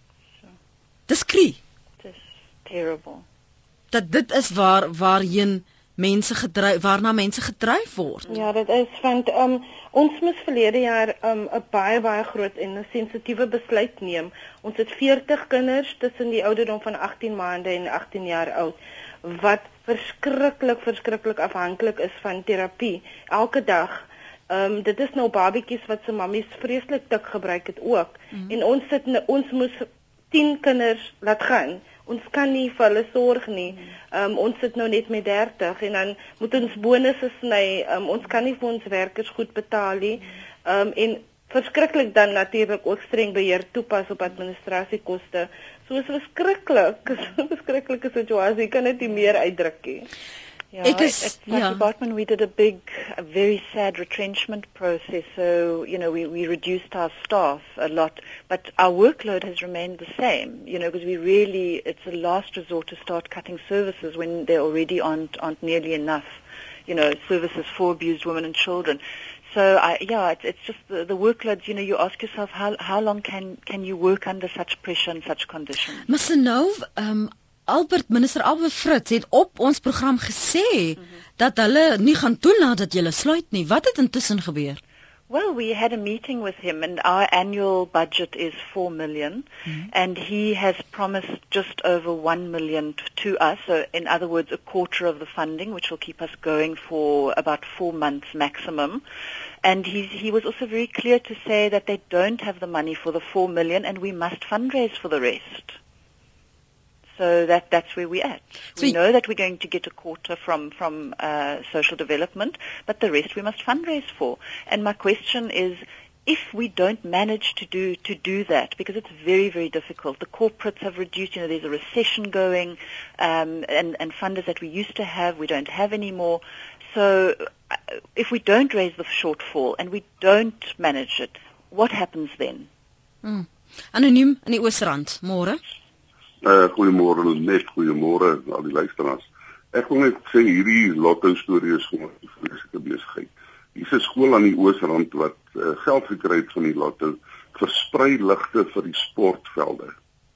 Dis krie. Dis terrible. Dat dit is waar waarheen mense gedryf, waarna mense gedryf word. Ja, dit is want um, ons moes verlede jaar 'n um, baie baie groot en 'n sensitiewe besluit neem. Ons het veertig kinders tussen die ouderdom van agttien maande en agttien jaar oud wat verskriklik verskriklik afhanklik is van terapie elke dag. Um, dit is nou babatjies wat se mammies vreeslik dik gebruik het ook. Mm-hmm. En ons sit ons moes tien kinders laat gaan. Ons kan nie vir hulle sorg nie. Um, ons sit nou net met dertig en dan moet ons bonusse sny. Um, ons kan nie vir ons werkers goed betaal nie. Um, en verskriklik dan natuurlik ook streng beheer toepas op administrasiekoste. So is verskriklik, so 'n verskriklike situasie. Kan dit nie meer uitdruk nie. Yeah, at Saartjie Baartman we did a big, a very sad retrenchment process. So, you know, we, we reduced our staff a lot, but our workload has remained the same, you know, because we really, it's a last resort to start cutting services when there already aren't, aren't nearly enough, you know, services for abused women and children. So, I, yeah, it's, it's just the, the workload, you know, you ask yourself, how, how long can, can you work under such pressure and such conditions? Mister Nov, um, Albert, minister Albert Fritz het op ons program gesê mm-hmm. dat hulle nie gaan toelaat dat julle sluit nie. Wat het intussen gebeur? Well, we had a meeting with him, and our annual budget is four million, mm-hmm. and he has promised just over one million t- to us. So, in other words, a quarter of the funding, which will keep us going for about four months maximum. And he's, he was also very clear to say that they don't have the money for the four million, and we must fundraise for the rest. So that that's where we're at. So we know that we're going to get a quarter from from uh, social development, but the rest we must fundraise for. And my question is, if we don't manage to do to do that, because it's very very difficult. The corporates have reduced. You know, there's a recession going, um, and and funders that we used to have we don't have anymore. So uh, if we don't raise the shortfall and we don't manage it, what happens then? Mm. Anoniem in die Oosrand, môre. Uh, goeiemôre net, goeiemôre al die luisteraars. Ek wil net sê hierdie lotto storie is gewoon 'n vreeslike besigheid. Hier is 'n skool aan die Oosrand wat uh, geld gekry het van die lotto, versprei ligte vir die sportvelde.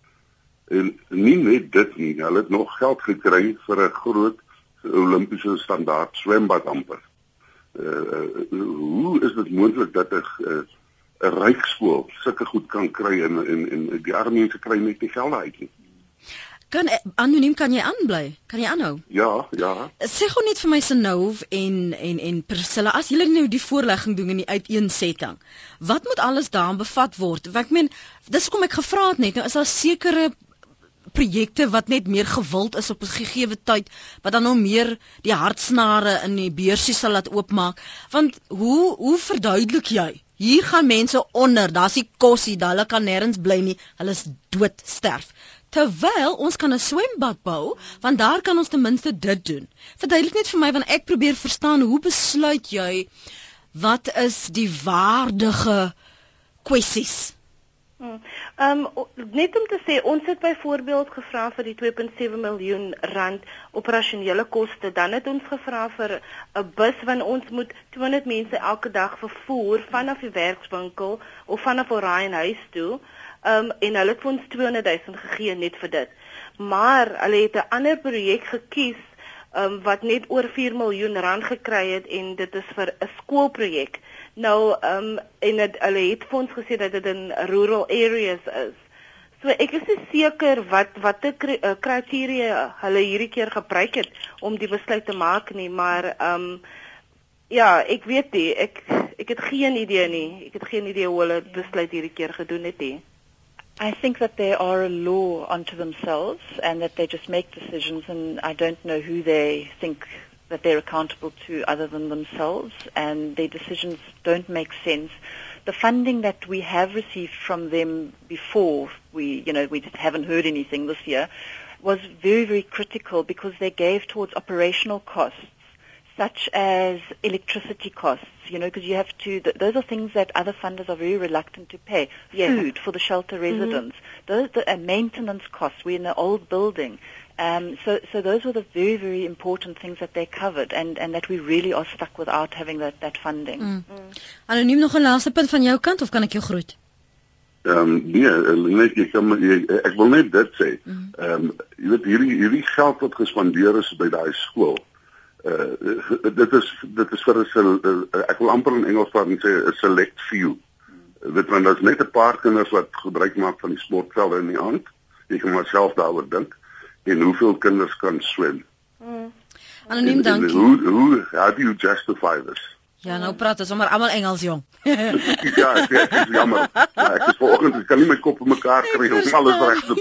En nie net dit nie, hulle het nog geld gekry vir 'n groot Olimpiese standaard swembad amper. Uh, uh, hoe is dit moontlik dat 'n uh, 'n ryk skool sulke goed kan kry en en en die arme mense kry net die geld uit nie? Kan anoniem kan jy aanbly? Kan jy aanhou? Ja, ja. Sê gou net vir my Senov en en en Priscilla, as julle nou die voorlegging doen in die uiteensetting, wat moet alles daarin bevat word? Want ek meen, dis hoekom ek gevra het net, nou is daar sekere projekte wat net meer gewild is op 'n gegeewe tyd, wat dan nou meer die hartsnare in die beursie sal laat oopmaak. Want hoe hoe verduidelik jy? Hier gaan mense onder, daar's nie kosie, hulle kan nêrens bly nie, hulle is dood sterf. Terwyl ons kan 'n swembad bou, want daar kan ons ten minste dit doen. Verduidelik net vir my, want ek probeer verstaan, hoe besluit jy wat is die waardige kwessies? Hmm. Um, net om te sê, ons het byvoorbeeld gevra vir die twee komma sewe miljoen rand operasionele koste, dan het ons gevra vir 'n bus, want ons moet tweehonderd mense elke dag vervoer vanaf die werkswinkel of vanaf Orionhuis toe. Um, en hulle het vir ons tweehonderd duisend gegee net vir dit. Maar hulle het 'n ander projek gekies um, wat net oor vier miljoen rand gekry het, en dit is vir 'n skoolprojek. Nou um, en het, hulle het vir ons gesê dat dit in rural areas is. So ek is nie seker wat watter kriteria hulle hierdie keer gebruik het om die besluit te maak nie, maar um, ja, ek weet nie, ek ek het geen idee nie. Ek het geen idee hoe hulle besluit hierdie keer gedoen het nie. I think that they are a law unto themselves, and that they just make decisions, and I don't know who they think that they're accountable to other than themselves, and their decisions don't make sense. The funding that we have received from them before, we, you know, we haven't heard anything this year, was very, very critical, because they gave towards operational costs, such as electricity costs, you know, because you have to, th- those are things that other funders are very reluctant to pay. Yes. Food for the shelter residents, mm-hmm. those the, uh, maintenance costs. We're in an old building. Um, so, so those were the very, very important things that they covered, and, and that we really are stuck without having that, that funding. Mm. Mm. Anoniem, nog 'n laaste punt van jou kant, of kan ek jou groet? Ehm um, nee, net jy kan jy, ek wil net dit sê. Ehm mm. um, jy weet hierdie hierdie geld wat gespandeer is by daai skool. Uh, dit is dit is vir 'n uh, ek wil amper in Engels praat en sê 'n select few. Mm. Dit want daar's net 'n paar kinders wat gebruik maak van die sportvelde in die aand. Jy kan maar self daaroor dink. En hoeveel kinders kan swem? Mm. Anoniem, dankie. Hoe hoe how do you justify this? Ja, nou praat ons sommer almal Engels, jong. ja, ek, ek is jammer. Ja, ek is vanoggend, ek kan nie my kop in mekaar kry om alles reg te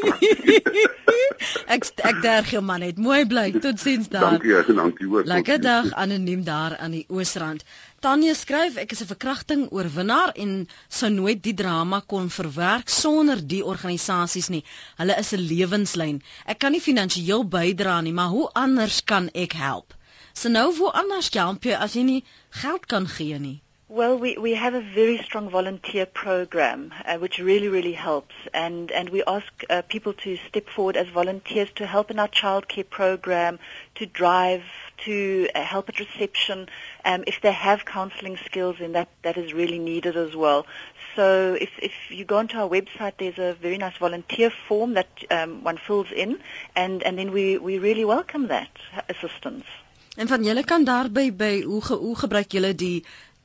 praat. ek ek derg jou man net. Mooi bly. Totsiens daar. Dankie, dankie hoor. Lekker dag, anoniem daar aan die Oosrand. Tanya skryf, ek is 'n verkrachting oorwinnaar en sou nooit die drama kon verwerk sonder die organisasies nie. Hulle is 'n lewenslyn. Ek kan nie finansiëel bydra nie, maar hoe anders kan ek help? So nou, hoe anders help jy as jy nie geld kan gee nie? Well, we, we have a very strong volunteer program, uh, which really, really helps. And, and we ask uh, people to step forward as volunteers to help in our childcare program, to drive, to uh, help at reception. Um, if they have counseling skills, then that, that is really needed as well. So if, if you go onto our website, there's a very nice volunteer form that um, one fills in, and, and then we, we really welcome that assistance. En van julle kan daarby by hoe ge, hoe gebruik julle die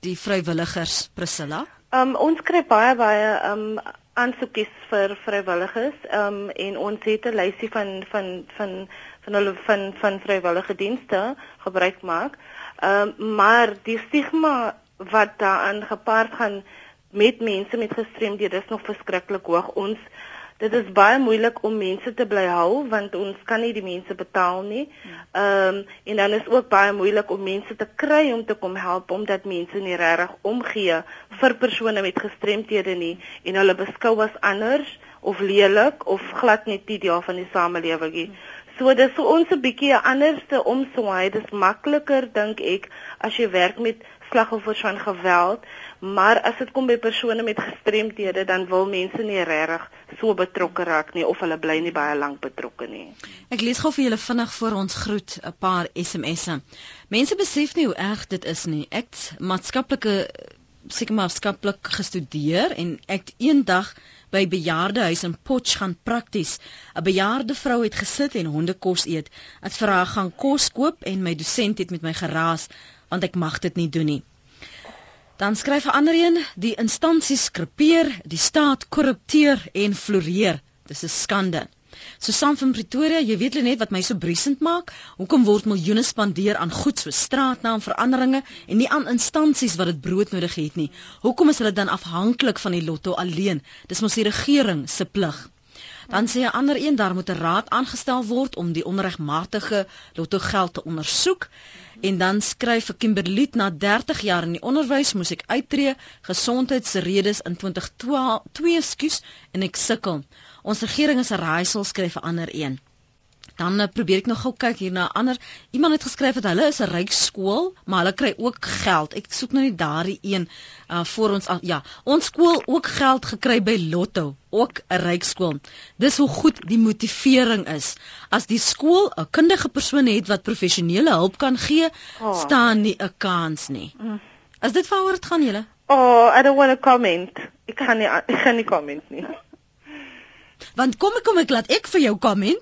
die vrywilligers, Priscilla? Um, ons kry baie baie um, aansoekies vir vrywilligers um, en ons het 'n lysie van van van van hulle van van vrywillige dienste gebruik maak. Um, maar die stigma wat daaraan gepaard gaan met mense met gestremdhede is nog verskriklik hoog. Ons dit is baie moeilik om mense te bly hou want ons kan nie die mense betaal nie. Ehm um, en dan is ook baie moeilik om mense te kry om te kom help omdat mense nie regtig omgee vir persone met gestremdhede nie en hulle beskou as anders of lelik of glad nie deel van die samelewing nie. So dis vir ons 'n bietjie 'n anderste omswaai. Dis makliker dink ek as jy werk met slagoffers van geweld, maar as dit kom by persone met gestremdhede, dan wil mense nie regtig so betrokke raak nie of hulle bly nie baie lank betrokke nie. Ek lees gou vir julle vinnig voor ons groet 'n paar S M S'e. Mense besef nie hoe erg dit is nie. Ek het maatskaplike seker maatskaplik gestudeer en ek het eendag by bejaardehuis in Potch gaan prakties. 'n Bejaarde vrou het gesit en hondekos eet. Het vir haar gaan kos koop en my dosent het met my geraas want ek mag dit nie doen nie. Dan skryf 'n ander een, die instansies skrepeer, die staat korrupteer en floreer. Dis 'n skande. Susan van Pretoria, jy weet net wat my so briesend maak. Hoekom word miljoene spandeer aan goed so straatnaamveranderinge en nie aan instansies wat dit broodnodig het nie? Hoekom is hulle dan afhanklik van die lotto alleen? Dis mos die regering se plig. Dan sê 'n ander een, daar moet 'n raad aangestel word om die onregmatige lotto geld te ondersoek. En dan skryf vir Kimberley, na dertig jaar in die onderwys moes ek uittreë, gesondheidsredes in twintig twee, skus, en ek sukkel. Ons regering is 'n raaisel, skryf 'n ander een. Dan uh, probeer ek nog gou kyk hier na 'n ander. Iemand het geskryf dat hulle is 'n ryk skool, maar hulle kry ook geld. Ek soek nou nie daardie een uh, voor ons uh, ja, ons skool ook geld gekry by Lotto, ook 'n ryk skool. Dis hoe goed die motivering is. As die skool 'n kundige persoon het wat professionele hulp kan gee, oh. staan nie 'n kans nie. Mm. Is dit waaroor dit gaan julle? Oh, I don't want to comment. Ek kan nie ek gaan nie comment nie. Want kom ek kom ek laat ek vir jou comment.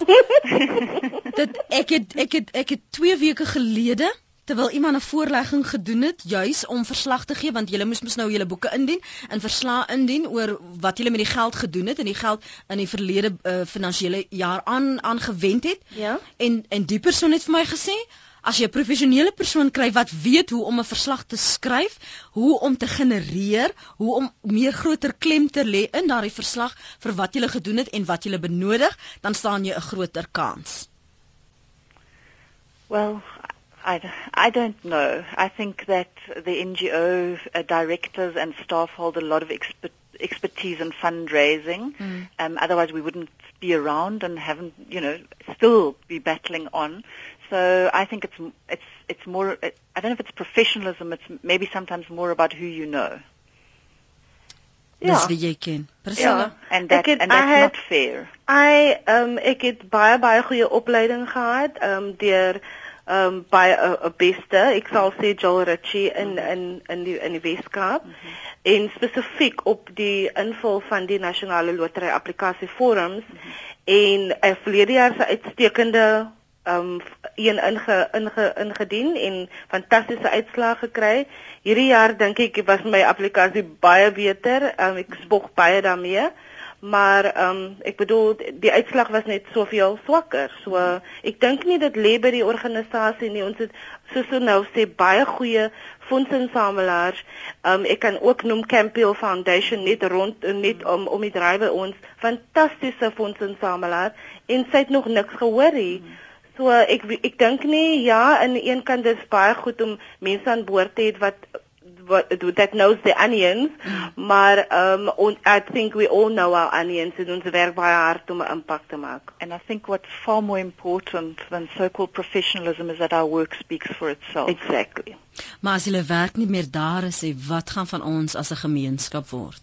dat ek het ek het ek het twee weke gelede terwyl iemand 'n voorlegging gedoen het juis om verslag te gee want julle moes mos nou julle boeke indien en verslae indien oor wat julle met die geld gedoen het en die geld in die verlede uh, finansiële jaar aan aangewend het. Ja. En en die persoon het vir my gesê, as jy 'n professionele persoon kry wat weet hoe om 'n verslag te skryf, hoe om te genereer, hoe om meer groter klem te lê in daardie verslag vir wat jy gedoen het en wat jy benodig, dan staan jy 'n groter kans. Well, I, I don't know. I think that the N G O uh, directors and staff hold a lot of expert, expertise in fundraising. Mm. Um, otherwise we wouldn't be around and haven't, you know, still be battling on. So I think it's it's it's more. It, I don't know if it's professionalism. It's maybe sometimes more about who you know. Ja. Dis wie jy ken. Ja. And that het, and that's had, not fair. I um ek het baie baie goeie opleiding gehad um deur um by 'n beste, ek sal sê Joel Ritchie in in in die in die Weskaap mm-hmm. en spesifiek op die invul van die nasionale lotery applikasie forums mm-hmm. en 'n uh, verlede jaar se uitstekende um een inge, inge, ingedien en fantastiese uitslae gekry. Hierdie jaar dink ek was my applikasie baie beter. Um, ek spog baie daarmee. Maar um ek bedoel die uitslag was net soveel swakker. So uh, ek dink nie dit lê by die organisasie nie. Ons het soos so nou sê baie goeie fondsinsamelaars. Um ek kan ook noem Campbell Foundation net rond net om om die drywe ons fantastiese fondsinsamelaar en sy het nog niks gehoor nie. So ek ek dink nie ja, aan die een kant dis baie goed om mense aan boord te hê wat what that knows the onions, mm. maar um on, I think we all know our onions en ons werk baie hard om 'n impak te maak. And I think what's far more important than so-called professionalism is that our work speaks for itself. Exactly. Maar as julle werk nie meer daar is, wat gaan van ons as 'n gemeenskap word?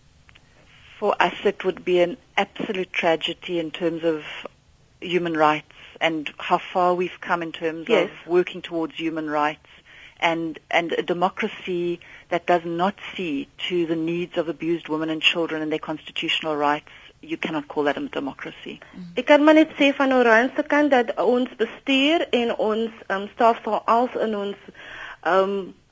For us it would be an absolute tragedy in terms of human rights and how far we've come in terms yes. of working towards human rights and and a democracy that does not see to the needs of abused women and children and their constitutional rights. You cannot call that a democracy. Ek kan maar net sê van Oranje se kant dat ons bestuur en ons um, staf sal als in ons um,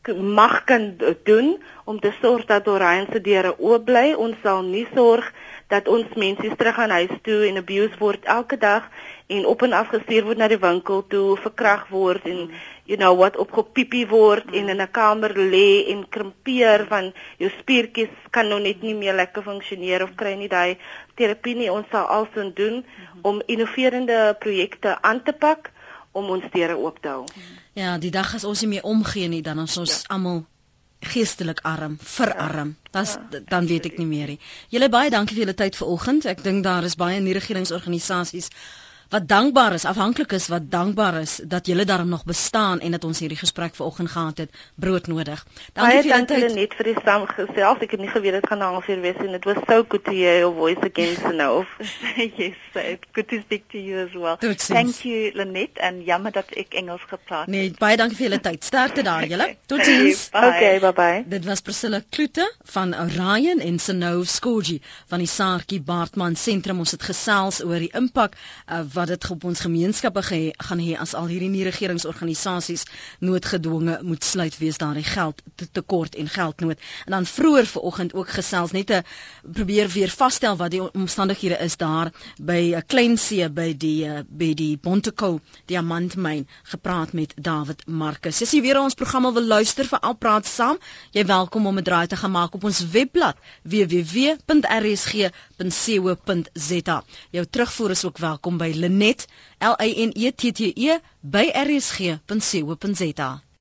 mag kan doen om te sorg dat Orion se deure oop bly. Ons sal nie sorg dat ons mense terug aan huis toe en abuse word elke dag en op en af gestuur word na die winkel toe, verkragt word en you know wat opgepiepie word mm. en in 'n kamer lê en krimpeer van jou spiertjies kan nou net nie meer lekker funksioneer of kry nie daai terapie nie. Ons sal alsin doen mm-hmm. om innoverende projekte aan te pak om ons deure oop te hou. Ja, die dag as ons nie meer omgee nie, dan is ons ja. almal geestelik arm, verarm. Das, ja, dan weet ek nie meer nie. Julle baie dankie vir julle tyd vanoggend. Ek dink daar is baie nie-regeringsorganisasies wat dankbaar is, afhanklik is, wat dankbaar is dat julle daarom nog bestaan en dat ons hierdie gesprek vanoggend gehad het, broodnodig. Dankie vir julle tyd net vir die saamgesels. Ek het nie geweet dit gaan na halfuur wees en it was so good to hear your voice again, Snow. Yes, it's good to speak to you as well. Thank you, Lynette, en jammer dat ek Engels gepraat het. Nee, baie dankie vir julle tyd. Sterkte daar julle. Totsiens. Okay, bye bye. Dit was Priscilla Kloete van Orion en Snow Skorgie van die Saartjie Baartman Sentrum. Ons het gesels oor die impak uh, wat dit op ons gemeenskappe ge, gaan hê as al hierdie nie-regeringsorganisasies noodgedwonge moet sluit wees daar die geld te, tekort en geldnood. En dan vroeër vanoggend ook gesels net te probeer weer vasstel wat die omstandighede is daar by 'n klein see by die uh, by die Bontekoe diamantmyn, gepraat met David Marcus. As jy weer ons programme wil luister vir Al Praat Saam, jy welkom om 'n draai te gaan maak op ons webblad w w w punt r s g punt co punt z a. Jou terugvoer is ook welkom by Lynette, L Y N E T T E by r s g punt co punt z a.